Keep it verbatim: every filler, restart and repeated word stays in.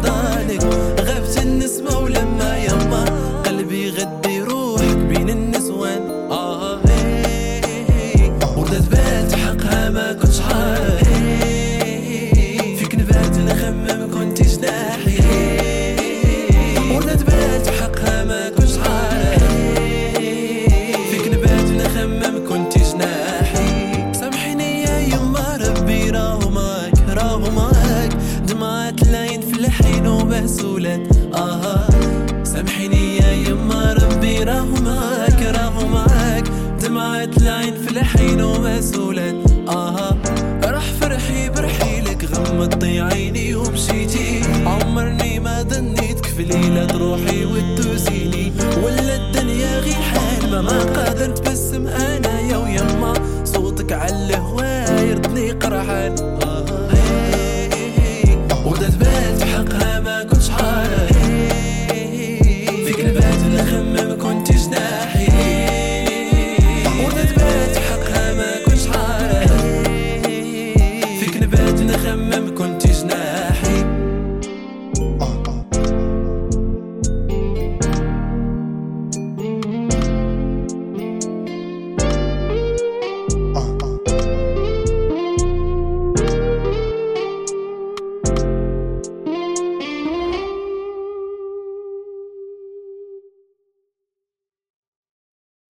حضانك. غابت النسمة ولما يما قلبي غدي روحك بين النسوان. آه وردة بات حقها ما كنتش عارف، فيك نبات نخمم كنتي جناحي. وردة بات حقها ما كنتش عارف، فيك نبات نخمم كنتي جناحي. سامحيني يا يما ربي راهو معاك راهو معاك، دمعات العين في الحين ومسؤولات. آه سامحيني يا يما ربي راهو معاك راهو معاك، دمعات العين في الحين ومسؤولات. آه راح فرحي برحيلك غمضتي عيني ومشيت